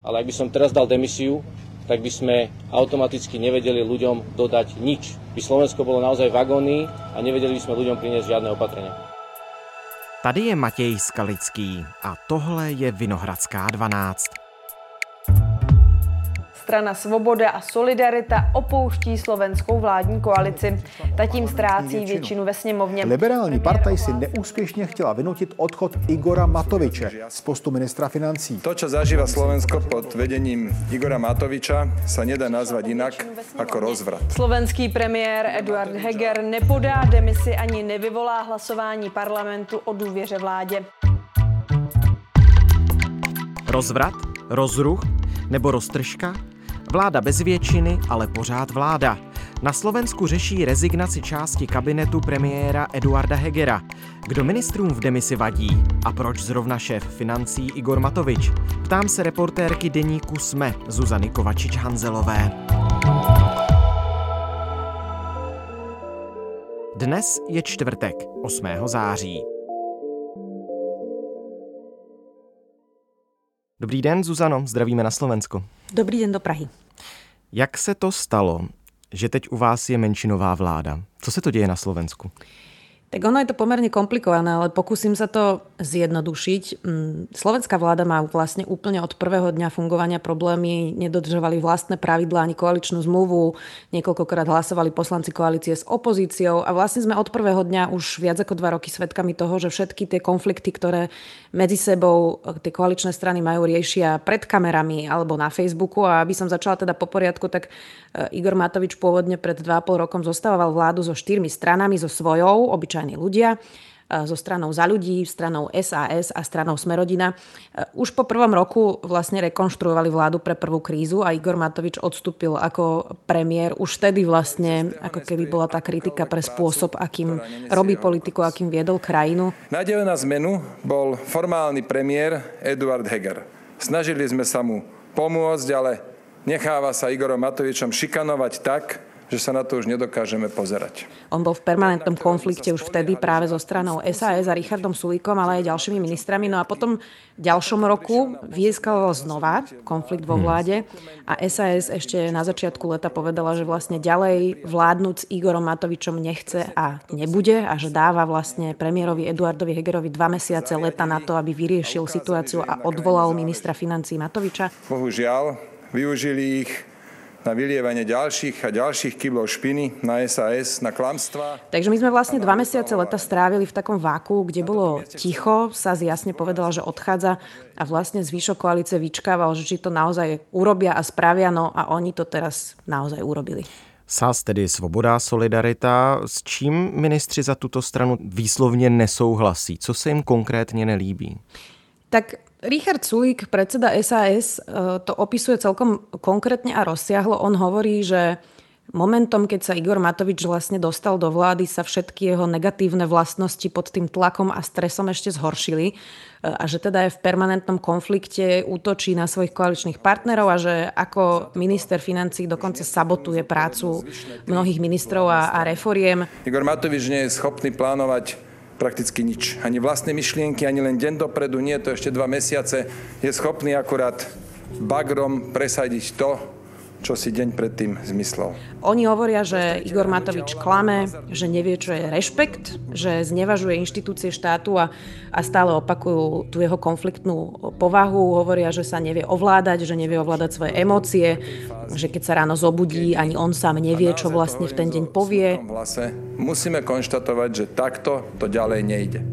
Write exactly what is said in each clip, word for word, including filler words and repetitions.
Ale ak by som teraz dal demisiu, tak by sme automaticky nevedeli ľuďom dodať nič. By Slovensko bolo naozaj v agónii a nevedeli by sme ľuďom priniesť žiadne opatrenia. Tady je Matěj Skalický a tohle je Vinohradská dvanáct. Strana Svoboda a Solidarita opouští slovenskou vládní koalici. Ta tím ztrácí většinu ve sněmovně. Liberální partaj si neúspěšně chtěla vynutit odchod Igora Matoviče z postu ministra financí. To, čo zažíva Slovensko pod vedením Igora Matoviča, sa nedá nazvať inak ako rozvrat. Slovenský premiér Eduard Heger nepodá demisi ani nevyvolá hlasování parlamentu o důvěře vládě. Rozvrat? Rozruch? Nebo roztržka? Vláda bez většiny, ale pořád vláda. Na Slovensku řeší rezignaci části kabinetu premiéra Eduarda Hegera. Kdo ministrům v demisi vadí? A proč zrovna šéf financí Igor Matovič? Ptám se reportérky deníku SME Zuzany Kovačič-Hanzelové. Dnes je čtvrtek, osmého září. Dobrý den, Zuzano, zdravíme na Slovensko. Dobrý den do Prahy. Jak se to stalo, že teď u vás je menšinová vláda? Co se to děje na Slovensku? Tak ono je to pomerne komplikované, ale pokúsim sa to zjednodušiť. Slovenská vláda má vlastne úplne od prvého dňa fungovania problémy, nedodržovali vlastné pravidlá ani koaličnú zmluvu, niekoľkokrát hlasovali poslanci koalície s opozíciou a vlastne sme od prvého dňa už viac ako dva roky svedkami toho, že všetky tie konflikty, ktoré medzi sebou tie koaličné strany majú, riešia pred kamerami alebo na Facebooku. A aby som začala teda po poriadku, tak Igor Matovič pôvodne pred dva a pol rokom zostával vládu so štyrmi stranami, so svojou, obyčajní ľudia, so stranou Za ľudí, stranou es a es a stranou Smerodina. Už po prvom roku vlastne rekonštruovali vládu pre prvú krízu a Igor Matovič odstúpil ako premiér. Už vtedy vlastne ako keby bola tá kritika pre spôsob, akým robí politiku, akým viedol krajinu. Nádejou na zmenu bol formálny premiér Eduard Heger. Snažili sme sa mu pomôcť, ale necháva sa Igorom Matovičom šikanovať tak, že sa na to už nedokážeme pozerať. On bol v permanentnom konflikte už vtedy práve so stranou es a es a Richardom Sulíkom, ale aj ďalšími ministrami. No a potom v ďalšom roku vyeskaloval znova konflikt vo vláde a es a es ešte na začiatku leta povedala, že vlastne ďalej vládnuť s Igorom Matovičom nechce a nebude a že dáva vlastne premiérovi Eduardovi Hegerovi dva mesiace leta na to, aby vyriešil situáciu a odvolal ministra financií Matoviča. Bohužiaľ, využili ich na vylievanie ďalších a ďalších kyblov špiny na es a es, na klamstvá. Takže my sme vlastne dva mesiace leta strávili v takom váku, kde bolo ticho, es a es jasne povedala, že odchádza a vlastne zvyšok koalície vyčkával, že či to naozaj urobia a spravia, no a oni to teraz naozaj urobili. es a es, tedy Svoboda, Solidarita. S čím ministři za tuto stranu výslovně nesouhlasí? Co se jim konkrétně nelíbí? Tak Richard Sulík, predseda es a es, to opisuje celkom konkrétne a rozsiahlo. On hovorí, že momentom, keď sa Igor Matovič vlastne dostal do vlády, sa všetky jeho negatívne vlastnosti pod tým tlakom a stresom ešte zhoršili a že teda je v permanentnom konflikte, útočí na svojich koaličných partnerov a že ako minister financií dokonca sabotuje prácu mnohých ministrov a, a reforiem. Igor Matovič nie je schopný plánovať prakticky nič. Ani vlastné myšlienky, ani len deň dopredu, nie to ešte dva mesiace. Je schopný akurát bagrom presadiť to, čo si deň predtým zmyslel. Oni hovoria, že Igor Matovič klame, že nevie, čo je rešpekt, že znevažuje inštitúcie štátu a, a stále opakujú tú jeho konfliktnú povahu. Hovoria, že sa nevie ovládať, že nevie ovládať svoje emócie, že keď sa ráno zobudí, ani on sám nevie, čo vlastne v ten deň povie. Musíme konštatovať, že takto to ďalej nejde.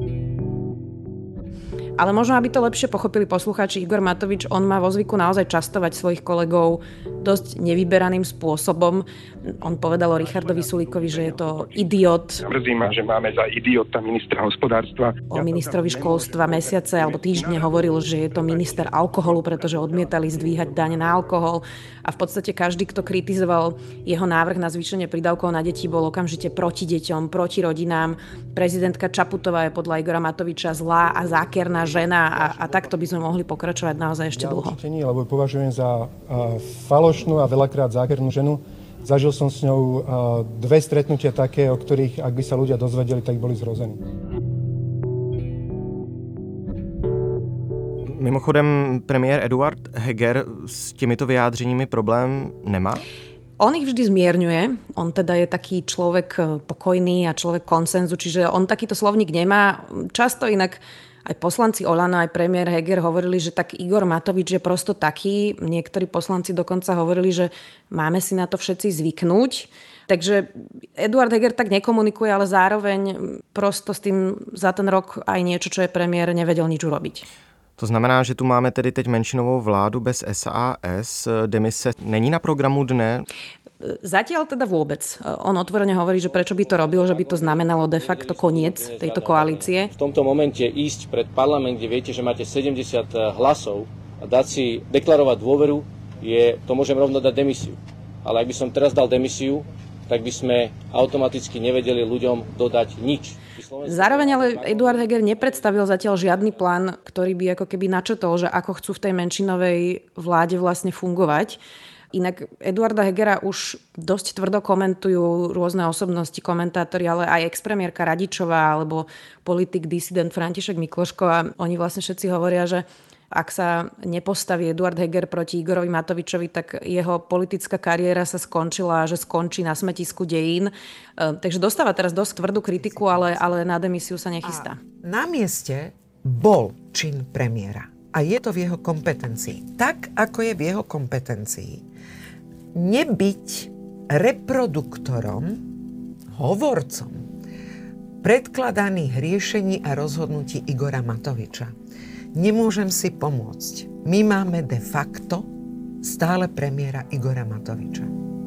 Ale možno, aby to lepšie pochopili poslucháči, Igor Matovič, on má vo zvyku naozaj častovať svojich kolegov dosť nevyberaným spôsobom. On povedal o Richardovi Sulíkovi, že je to idiot. Mrzí ma, že máme za idiota ministra hospodárstva. O ministrovi školstva mesiace alebo týždne hovoril, že je to minister alkoholu, pretože odmietali zdvíhať daň na alkohol. A v podstate každý, kto kritizoval jeho návrh na zvýšenie prídavkov na deti, bol okamžite proti deťom, proti rodinám. Prezidentka Čaputová je podľa Igora Matoviča zlá a zákerná žena a, a takto by sme mohli pokračovať naozaj ešte dlho. Ja určite nie, lebo ju považujem za uh, falošnú a veľakrát zákernú ženu. Zažil som s ňou uh, dve stretnutia také, o ktorých, ak by sa ľudia dozvedeli, tak boli zrození. Mimochodem, premiér Eduard Heger s těmito vyjádřeními problém nemá? On ich vždy zmierňuje. On teda je taký človek pokojný a človek konsenzu, čiže on takýto slovník nemá. Často inak aj poslanci Olano, aj premiér Heger hovorili, že tak Igor Matovič je prosto taký. Niektorí poslanci dokonca hovorili, že máme si na to všetci zvyknúť. Takže Eduard Heger tak nekomunikuje, ale zároveň prosto s tým za ten rok aj niečo, čo je premiér, nevedel nič urobiť. To znamená, že tu máme tedy teď menšinovou vládu bez es a es. Demise není na programu dne? Zatiaľ teda vôbec. On otvorene hovorí, že prečo by to robil, že by to znamenalo de facto koniec tejto koalície. V tomto momente ísť pred parlament, kde viete, že máte sedemdesiat hlasov a dať si deklarovať dôveru, je, to môžem rovno dať demisiu. Ale ak by som teraz dal demisiu, tak by sme automaticky nevedeli ľuďom dodať nič. Zároveň ale Eduard Heger nepredstavil zatiaľ žiadny plán, ktorý by ako keby načetol, že ako chcú v tej menšinovej vláde vlastne fungovať. Inak Eduarda Hegera už dosť tvrdo komentujú rôzne osobnosti, komentátori, ale aj expremiérka Radičová alebo politik disident František Mikloško a oni vlastne všetci hovoria, že ak sa nepostaví Eduard Heger proti Igorovi Matovičovi, tak jeho politická kariéra sa skončila a že skončí na smetisku dejín. Takže dostáva teraz dosť tvrdú kritiku, ale, ale na demisiu sa nechystá. A na mieste bol čin premiéra a je to v jeho kompetencii. Tak, ako je v jeho kompetencii nebyť reproduktorom, hovorcom predkladaných riešení a rozhodnutí Igora Matoviča. Nemôžem si pomôcť. My máme de facto stále premiéra Igora Matoviča.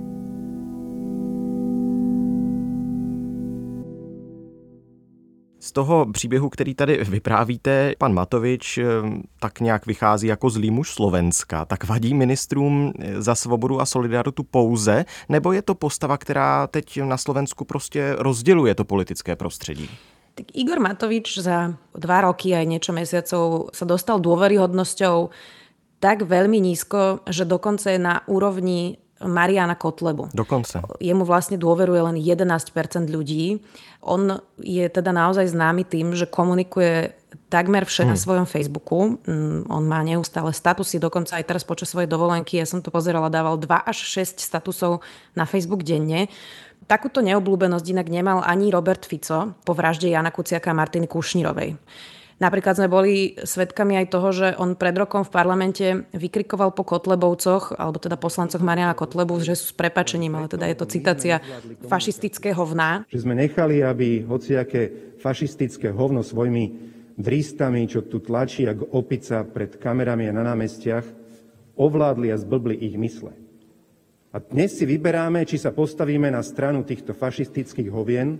Z toho příběhu, který tady vyprávíte, pan Matovič tak nějak vychází jako zlý muž Slovenska. Tak vadí ministrům za svobodu a solidaritu pouze, nebo je to postava, která teď na Slovensku prostě rozděluje to politické prostředí? Tak Igor Matovič za dva roky aj niečo mesiacov sa dostal dôveryhodnosťou tak veľmi nízko, že dokonca je na úrovni Mariana Kotlebu. Dokonca. Jemu vlastne dôveruje len jedenásť percent ľudí. On je teda naozaj známy tým, že komunikuje takmer vše hmm. na svojom Facebooku. On má neustále statusy, dokonca aj teraz počas svojej dovolenky, ja som to pozerala, dával dva až šesť statusov na Facebook denne. Takúto neobľúbenosť inak nemal ani Robert Fico po vražde Jana Kuciaka a Martiny Kušnírovej. Napríklad sme boli svedkami aj toho, že on pred rokom v parlamente vykrikoval po Kotlebovcoch, alebo teda poslancoch Mariana Kotlebu, že sú s prepáčením, ale teda je to citácia fašistického hovna. Že sme nechali, aby hociaké fašistické hovno svojimi drístami, čo tu tlačí ako opica pred kamerami a na námestiach, ovládli a zblbli ich mysle. A dnes si vyberáme, či sa postavíme na stranu týchto fašistických hovien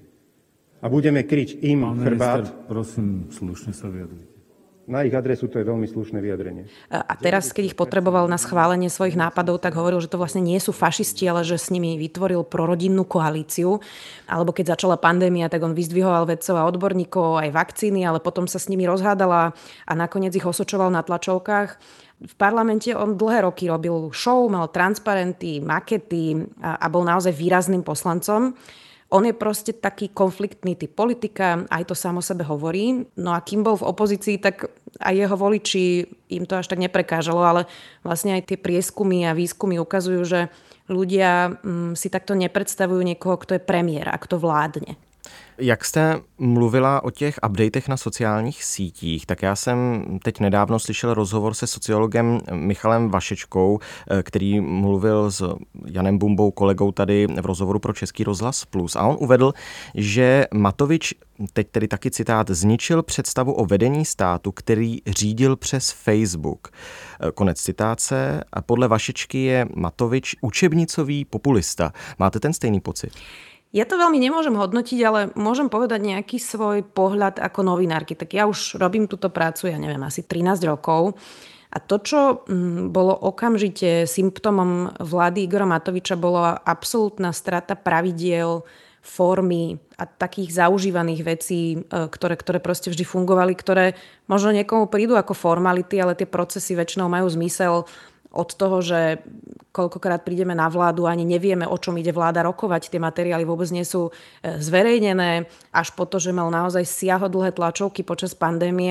a budeme kryť im Pán chrbát. Minister, prosím, slušne sa vyjadrite. Na ich adresu to je veľmi slušné vyjadrenie. A teraz, keď ich potreboval na schválenie svojich nápadov, tak hovoril, že to vlastne nie sú fašisti, ale že s nimi vytvoril prorodinnú koalíciu. Alebo keď začala pandémia, tak on vyzdvihoval vedcov a odborníkov aj vakcíny, ale potom sa s nimi rozhádala a nakoniec ich osočoval na tlačovkách. V parlamente on dlhé roky robil show, mal transparenty, makety a, a bol naozaj výrazným poslancom. On je proste taký konfliktný typ politika, aj to samo sebe hovorí. No a kým bol v opozícii, tak aj jeho voliči, im to až tak neprekážalo, ale vlastne aj tie prieskumy a výskumy ukazujú, že ľudia mm, si takto nepredstavujú niekoho, kto je premiér a kto vládne. Jak jste mluvila o těch updatech na sociálních sítích, tak já jsem teď nedávno slyšel rozhovor se sociologem Michalem Vašečkou, který mluvil s Janem Bumbou, kolegou tady v rozhovoru pro Český rozhlas Plus. A on uvedl, že Matovič, teď tedy taky citát, zničil představu o vedení státu, který řídil přes Facebook. Konec citáce. A podle Vašečky je Matovič učebnicový populista. Máte ten stejný pocit? Ja to veľmi nemôžem hodnotiť, ale môžem povedať nejaký svoj pohľad ako novinárky. Tak ja už robím túto prácu, ja neviem, asi trinásť rokov. A to, čo bolo okamžite symptómom vlády Igora Matoviča, bola absolútna strata pravidiel, formy a takých zaužívaných vecí, ktoré, ktoré proste vždy fungovali, ktoré možno niekomu prídu ako formality, ale tie procesy väčšinou majú zmysel. Od toho, že koľkokrát prídeme na vládu, ani nevieme, o čom ide vláda rokovať, tie materiály vôbec nie sú zverejnené, až po to, že mal naozaj siahodlhé tlačovky počas pandémie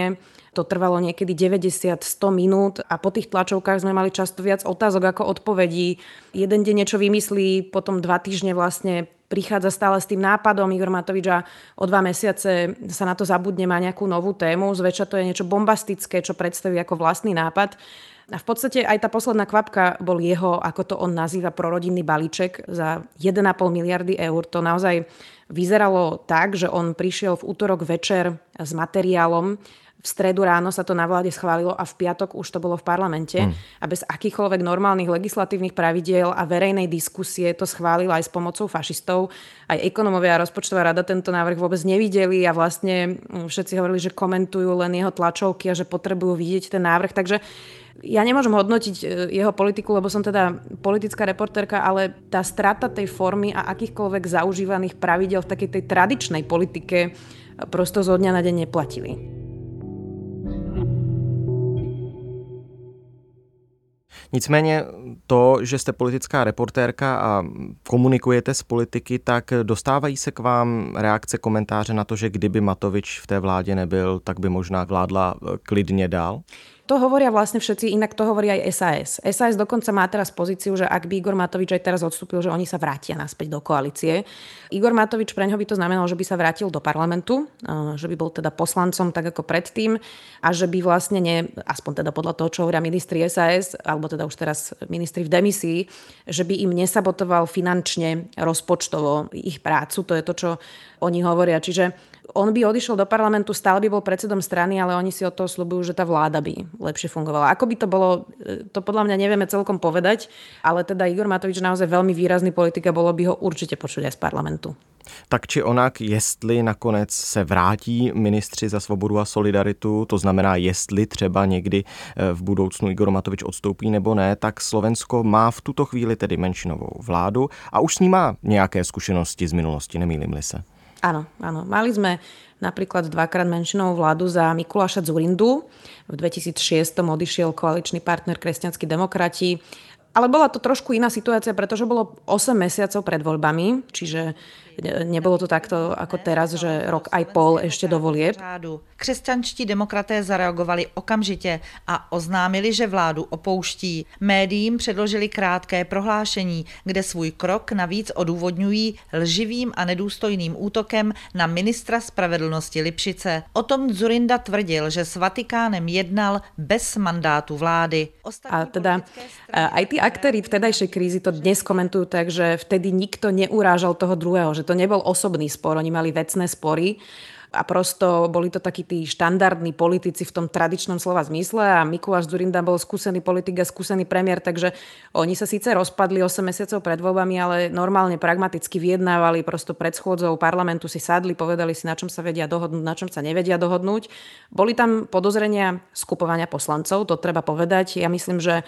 To trvalo niekedy deväťdesiat až sto minút a po tých tlačovkách sme mali často viac otázok ako odpovedí. Jeden deň niečo vymyslí, potom dva týždne vlastne prichádza stále s tým nápadom Igor Matovič a o dva mesiace sa na to zabudne, má nejakú novú tému. Zväčša to je niečo bombastické, čo predstaví ako vlastný nápad. A v podstate aj tá posledná kvapka bol jeho, ako to on nazýva, prorodinný balíček za jeden a pol miliardy eur. To naozaj vyzeralo tak, že on prišiel v útorok večer s materiálom, v stredu ráno sa to na vláde schválilo a v piatok už to bolo v parlamente. Mm. A bez akýchkoľvek normálnych legislatívnych pravidiel a verejnej diskusie to schválila aj s pomocou fašistov. Aj ekonomovia a rozpočtová rada tento návrh vôbec nevideli a vlastne všetci hovorili, že komentujú len jeho tlačovky a že potrebujú vidieť ten návrh. Takže ja nemôžem hodnotiť jeho politiku, lebo som teda politická reportérka, ale tá strata tej formy a akýchkoľvek zaužívaných pravidel v takej tej tradičnej politike prosto zo dňa na deň neplatili. Nicméně to, že jste politická reportérka a komunikujete s politiky, tak dostávají se k vám reakce, komentáře na to, že kdyby Matovič v té vládě nebyl, tak by možná vládla klidně dál? To hovoria vlastne všetci, inak to hovorí aj es a es. es a es dokonca má teraz pozíciu, že ak by Igor Matovič aj teraz odstúpil, že oni sa vrátia naspäť do koalície. Igor Matovič, preňho by to znamenalo, že by sa vrátil do parlamentu, že by bol teda poslancom tak ako predtým a že by vlastne, nie, aspoň teda podľa toho, čo hovoria ministri es a es, alebo teda už teraz ministri v demisii, že by im nesabotoval finančne, rozpočtovo ich prácu. To je to, čo oni hovoria. Čiže on by odišiel do parlamentu, stále by bol predsedom strany, ale oni si od toho sľubujú, že tá vláda by lepšie fungovala. Ako by to bolo, to podľa mňa nevieme celkom povedať, ale teda Igor Matovič naozaj veľmi výrazný politik a bolo by ho určite počuť aj z parlamentu. Tak či onak, jestli nakonec se vrátí ministři za svobodu a solidaritu, to znamená, jestli třeba někdy v budoucnu Igor Matovič odstoupí nebo ne, tak Slovensko má v tuto chvíli tedy menšinovou vládu a už s ní má nějaké zkušenosti z minulosti, nemýlim-li se. Áno, áno. Mali sme napríklad dvakrát menšinovú vládu za Mikuláša Dzurindu. V dvetisícšesť odišiel koaličný partner Kresťanskí demokrati. Ale bola to trošku iná situácia, pretože bolo osem mesiacov pred voľbami, čiže nebolo to takto ako teraz, že rok aj pol ešte do volieb. Křesťanští demokraté zareagovali okamžitě a oznámili, že vládu opouští. Médiím předložili krátké prohlášení, kde svůj krok navíc odůvodňují lživým a nedůstojným útokem na ministra spravedlnosti Lipšice. O tom Dzurinda tvrdil, že s Vatikánem jednal bez mandátu vlády. A teda aj tí aktéri vtedajšej krízy to dnes komentujú tak, že vtedy nikto neurážal toho druhého, že to nebol osobný spor, oni mali vecné spory a prosto boli to takí tí štandardní politici v tom tradičnom slova zmysle a Mikuláš Dzurinda bol skúsený politik a skúsený premiér, takže oni sa síce rozpadli osem mesiacov pred voľbami, ale normálne pragmaticky vyjednávali, prosto pred schôdzou parlamentu si sadli, povedali si, na čom sa vedia dohodnúť, na čom sa nevedia dohodnúť. Boli tam podozrenia skupovania poslancov, to treba povedať. Ja myslím, že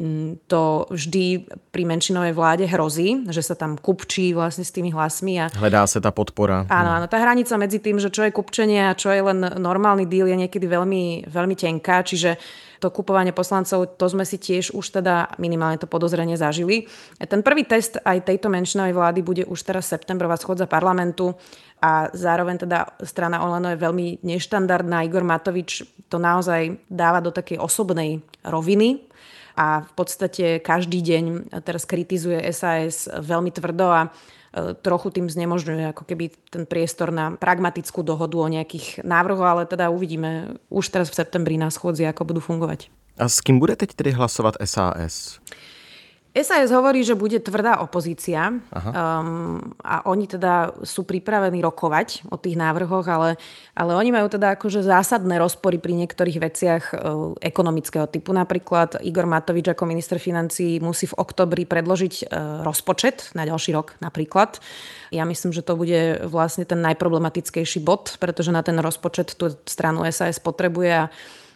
to vždy pri menšinovej vláde hrozí, že sa tam kupčí vlastne s tými hlasmi. A hledá sa tá podpora. Áno, áno, tá hranica medzi tým, že čo je kupčenie a čo je len normálny deal, je niekedy veľmi, veľmi tenká, čiže to kupovanie poslancov, to sme si tiež už teda minimálne to podozrenie zažili. Ten prvý test aj tejto menšinovej vlády bude už teraz septembrová schôdza parlamentu a zároveň teda strana Olano je veľmi neštandardná. Igor Matovič to naozaj dáva do takej osobnej roviny a v podstate každý deň teraz kritizuje es a es veľmi tvrdo a trochu tým znemožňuje ako keby ten priestor na pragmatickú dohodu o nejakých návrhoch, ale teda uvidíme už teraz v septembri na schôdzi, ako budú fungovať. A s kým bude teď tedy hlasovať es a es? es a es hovorí, že bude tvrdá opozícia um, a oni teda sú pripravení rokovať o tých návrhoch, ale, ale oni majú teda akože zásadné rozpory pri niektorých veciach uh, ekonomického typu. Napríklad Igor Matovič ako minister financií musí v októbri predložiť uh, rozpočet na ďalší rok napríklad. Ja myslím, že to bude vlastne ten najproblematickejší bod, pretože na ten rozpočet tú stranu es a es potrebuje a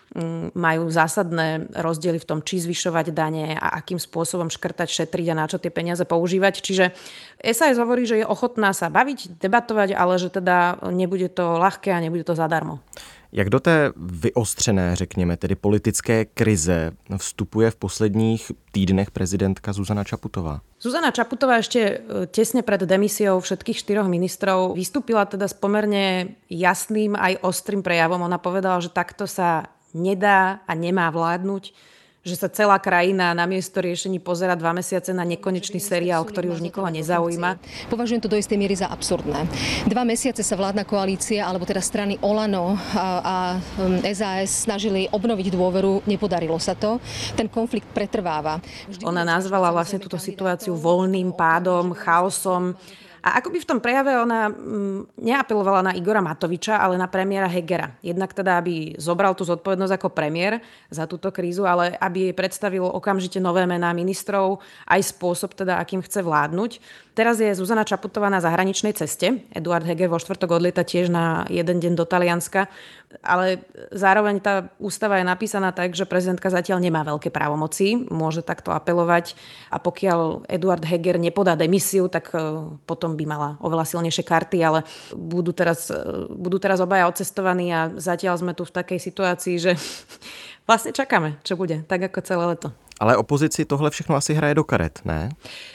majú zásadné rozdiely v tom, či zvyšovať dane a akým spôsobom škrtať, šetriť a na čo tie peniaze používať. Čiže es a es hovorí, že je ochotná sa baviť, debatovať, ale že teda nebude to ľahké a nebude to zadarmo. Jak do té vyostřené, řekněme, tedy politické krize vstupuje v posledních týdnech prezidentka Zuzana Čaputová? Zuzana Čaputová ešte tesne pred demisiou všetkých štyroch ministrov vystúpila teda s pomerne jasným aj ostrým prejavom. Ona povedala, že takto sa nedá a nemá vládnuť, že sa celá krajina namiesto riešení pozerá dva mesiace na nekonečný seriál, ktorý už nikoho nezaujíma. Považujem to do istej miery za absurdné. Dva mesiace sa vládna koalícia, alebo teda strany Olano a, a es a es snažili obnoviť dôveru, nepodarilo sa to. Ten konflikt pretrváva. Ona nazvala vlastne túto situáciu voľným pádom, chaosom. A akoby v tom prejave ona mm, neapelovala na Igora Matoviča, ale na premiéra Hegera. Jednak teda, aby zobral tú zodpovednosť ako premiér za túto krízu, ale aby jej predstavil okamžite nové mená ministrov, aj spôsob teda, akým chce vládnuť. Teraz je Zuzana Čaputová na zahraničnej ceste. Eduard Heger vo štvrtok odlieta tiež na jeden deň do Talianska. Ale zároveň tá ústava je napísaná tak, že prezidentka zatiaľ nemá veľké právomoci. Môže takto apelovať. A pokiaľ Eduard Heger nepodá demisiu, tak potom by mala oveľa silnejšie karty. Ale budú teraz, budú teraz obaja odcestovaní a zatiaľ sme tu v takej situácii, že vlastne čakáme, čo bude. Tak ako celé leto. Ale opozici tohle všechno asi hraje do karet, ne?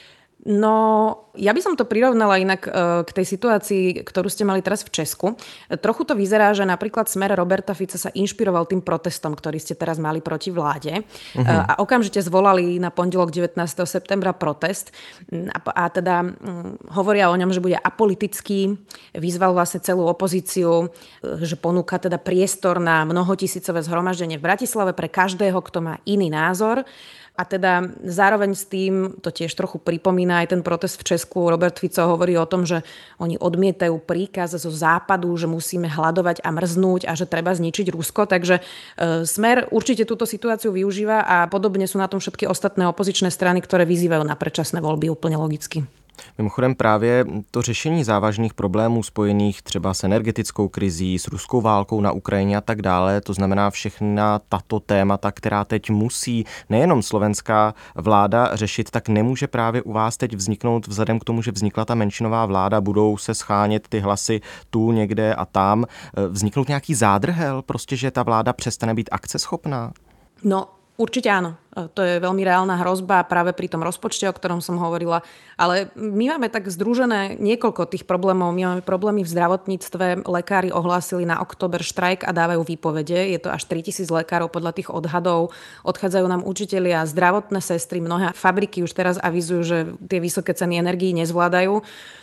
No, ja by som to prirovnala inak k tej situácii, ktorú ste mali teraz v Česku. Trochu to vyzerá, že napríklad Smer Roberta Fica sa inšpiroval tým protestom, ktorý ste teraz mali proti vláde. Uh-huh. A okamžite zvolali na pondelok devätnásteho septembra protest. A, a teda um, hovoria o ňom, že bude apolitický. Vyzval vlastne celú opozíciu, že ponúka teda priestor na mnohotisícové zhromaždenie v Bratislave pre každého, kto má iný názor. A teda zároveň s tým, to tiež trochu pripomína aj ten protest v Česku, Robert Fico hovorí o tom, že oni odmietajú príkaz zo západu, že musíme hladovať a mrznúť a že treba zničiť Rusko. Takže e, Smer určite túto situáciu využíva a podobne sú na tom všetky ostatné opozičné strany, ktoré vyzývajú na predčasné voľby úplne logicky. Mimochodem právě to řešení závažných problémů spojených třeba s energetickou krizí, s ruskou válkou na Ukrajině a tak dále, to znamená všechna tato témata, která teď musí nejenom slovenská vláda řešit, tak nemůže právě u vás teď vzniknout vzhledem k tomu, že vznikla ta menšinová vláda, budou se schánět ty hlasy tu někde a tam, vzniknout nějaký zádrhel, prostě, že ta vláda přestane být akceschopná? No, určite áno. To je veľmi reálna hrozba práve pri tom rozpočte, o ktorom som hovorila. Ale my máme tak združené niekoľko tých problémov. My máme problémy v zdravotníctve. Lekári ohlásili na október štrajk a dávajú výpovede. Je to až tritisíc lekárov podľa tých odhadov. Odchádzajú nám učitelia, zdravotné sestry. Mnohé fabriky už teraz avizujú, že tie vysoké ceny energií nezvládajú.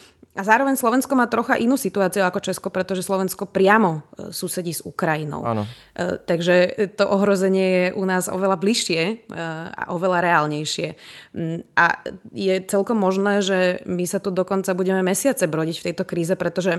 A zároveň Slovensko má trocha inú situáciu ako Česko, pretože Slovensko priamo susedí s Ukrajinou. Áno. Takže to ohrozenie je u nás oveľa bližšie a oveľa reálnejšie. A je celkom možné, že my sa tu dokonca budeme mesiace brodiť v tejto kríze, pretože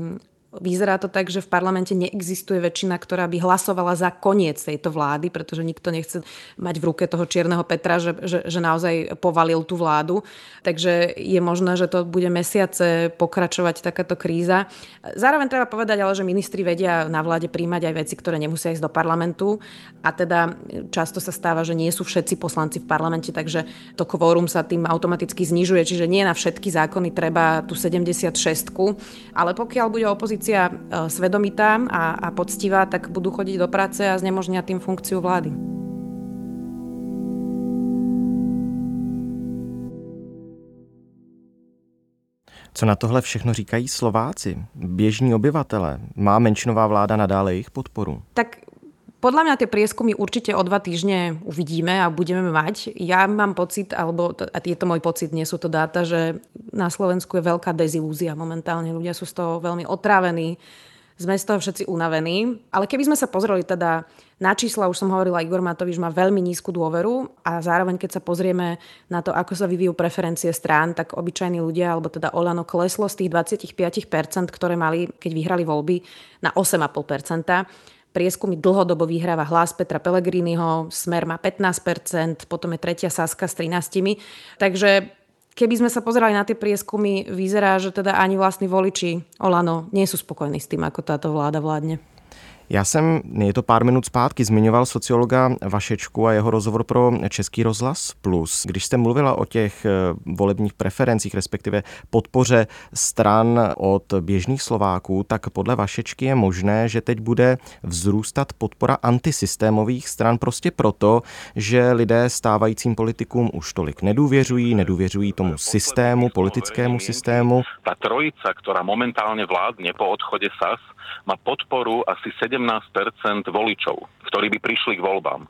vyzerá to tak, že v parlamente neexistuje väčšina, ktorá by hlasovala za koniec tejto vlády, pretože nikto nechce mať v ruke toho čierneho Petra, že, že, že naozaj povalil tú vládu. Takže je možné, že to bude mesiace pokračovať takáto kríza. Zároveň treba povedať, ale že ministri vedia na vláde príjmať aj veci, ktoré nemusia ísť do parlamentu. A teda často sa stáva, že nie sú všetci poslanci v parlamente, takže to kvórum sa tým automaticky znižuje. Čiže nie na všetky zákony treba tú sedemdesiatšestku. Ale pokiaľ bude opozícia svedomitá a, a poctivá, tak budú chodiť do práce a znemožnia tým funkciu vlády. Co na tohle všechno říkají Slováci, běžní obyvatele? Má menšinová vláda nadále jejich podporu? Tak podľa mňa tie prieskumy určite o dva týždne uvidíme a budeme mať. Ja mám pocit, alebo a je to môj pocit, nie sú to dáta, že na Slovensku je veľká dezilúzia momentálne. Ľudia sú z toho veľmi otrávení, sme z toho všetci unavení. Ale keby sme sa pozreli teda na čísla, už som hovorila, Igor Matovič má veľmi nízku dôveru a zároveň, keď sa pozrieme na to, ako sa vyvíjú preferencie strán, tak obyčajní ľudia, alebo teda Olano kleslo z tých dvadsaťpäť percent, ktoré mali, keď vyhrali voľby, na osem celá päť percenta. Prieskumy dlhodobo vyhráva Hlas Petra Pellegriniho, Smer má pätnásť percent, potom je tretia Saska s trinásť. Takže keby sme sa pozerali na tie prieskumy, vyzerá, že teda ani vlastní voliči Olano nie sú spokojní s tým, ako táto vláda vládne. Já jsem, je to pár minut zpátky, zmiňoval sociologa Vašečku a jeho rozhovor pro Český rozhlas Plus. Když jste mluvila o těch volebních preferencích, respektive podpoře stran od běžných Slováků, tak podle Vašečky je možné, že teď bude vzrůstat podpora antisystémových stran prostě proto, že lidé stávajícím politikům už tolik nedůvěřují, nedůvěřují tomu systému, politickému systému. Ta trojica, ktorá momentálne vládne po odchode es a es, má podporu asi sedemdesiat sedemnásť percent voličov, ktorí by prišli k voľbám.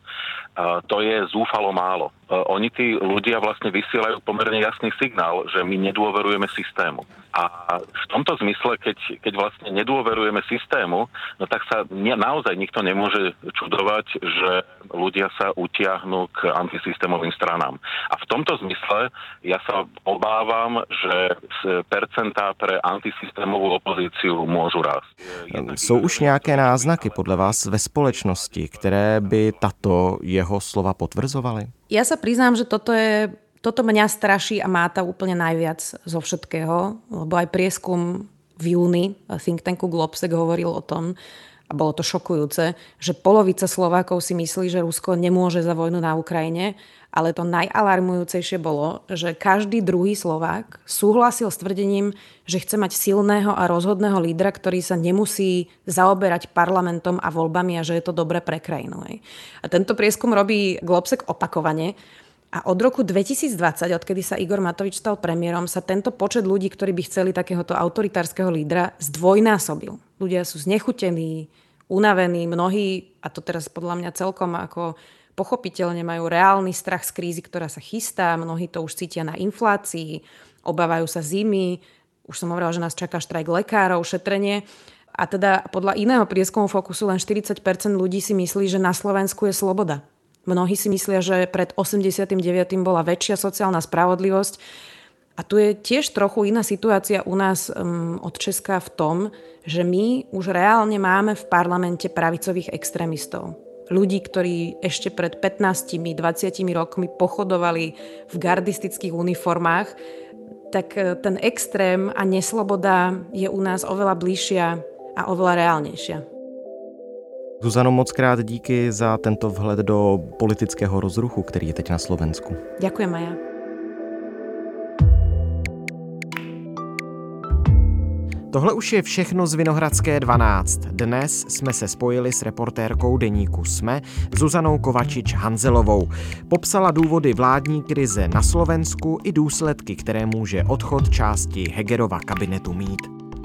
To je zúfalo málo. Oni, tí ľudia, vlastne vysielajú pomerne jasný signál, že my nedôverujeme systému. A v tomto zmysle, keď, keď vlastne nedôverujeme systému, no tak sa ne, naozaj nikto nemôže čudovať, že ľudia sa utiahnu k antisystémovým stranám. A v tomto zmysle ja sa obávam, že percentá pre antisystémovú opozíciu môžu rásť. Jsou už nějaké náznaky podle vás ve společnosti, které by tato jeho slova potvrzovaly? Ja sa priznám, že toto je Toto mňa straší a máta úplne najviac zo všetkého, lebo aj prieskum v júni think tanku Globsec hovoril o tom, a bolo to šokujúce, že polovica Slovákov si myslí, že Rusko nemôže za vojnu na Ukrajine, ale to najalarmujúcejšie bolo, že každý druhý Slovák súhlasil s tvrdením, že chce mať silného a rozhodného lídra, ktorý sa nemusí zaoberať parlamentom a voľbami a že je to dobré pre krajinu. A tento prieskum robí Globsec opakovane. A od roku dvetisícdvadsať, odkedy sa Igor Matovič stal premiérom, sa tento počet ľudí, ktorí by chceli takéhoto autoritárskeho lídra, zdvojnásobil. Ľudia sú znechutení, unavení, mnohí, a to teraz podľa mňa celkom ako pochopiteľne majú reálny strach z krízy, ktorá sa chystá, mnohí to už cítia na inflácii, obávajú sa zimy, už som hovorila, že nás čaká štrajk lekárov, šetrenie. A teda podľa iného prieskumu Fokusu len štyridsať percent ľudí si myslí, že na Slovensku je sloboda. Mnohí si myslia, že pred osemdesiatym deviatym bola väčšia sociálna spravodlivosť. A tu je tiež trochu iná situácia u nás um, od Česka v tom, že my už reálne máme v parlamente pravicových extrémistov. Ľudí, ktorí ešte pred pätnástimi dvadsiatimi rokmi pochodovali v gardistických uniformách, tak ten extrém a nesloboda je u nás oveľa bližšia a oveľa reálnejšia. Zuzano, moc krát díky za tento vhled do politického rozruchu, který je teď na Slovensku. Ďakujem, Maja. Tohle už je všechno z Vinohradské dvanáct. Dnes jsme se spojili s reportérkou deníku SME Zuzanou Kovačič-Hanzelovou. Popsala důvody vládní krize na Slovensku i důsledky, které může odchod části Hegerova kabinetu mít.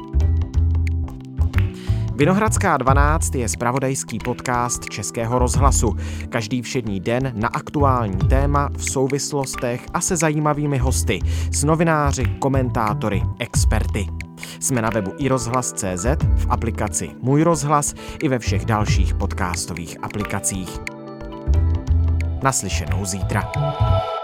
Vinohradská dvanáct je zpravodajský podcast Českého rozhlasu. Každý všední den na aktuální téma v souvislostech a se zajímavými hosty, s novináři, komentátory, experty. Jsme na webu i rozhlas tečka cé zet, v aplikaci Můj rozhlas i ve všech dalších podcastových aplikacích. Naslyšenou zítra.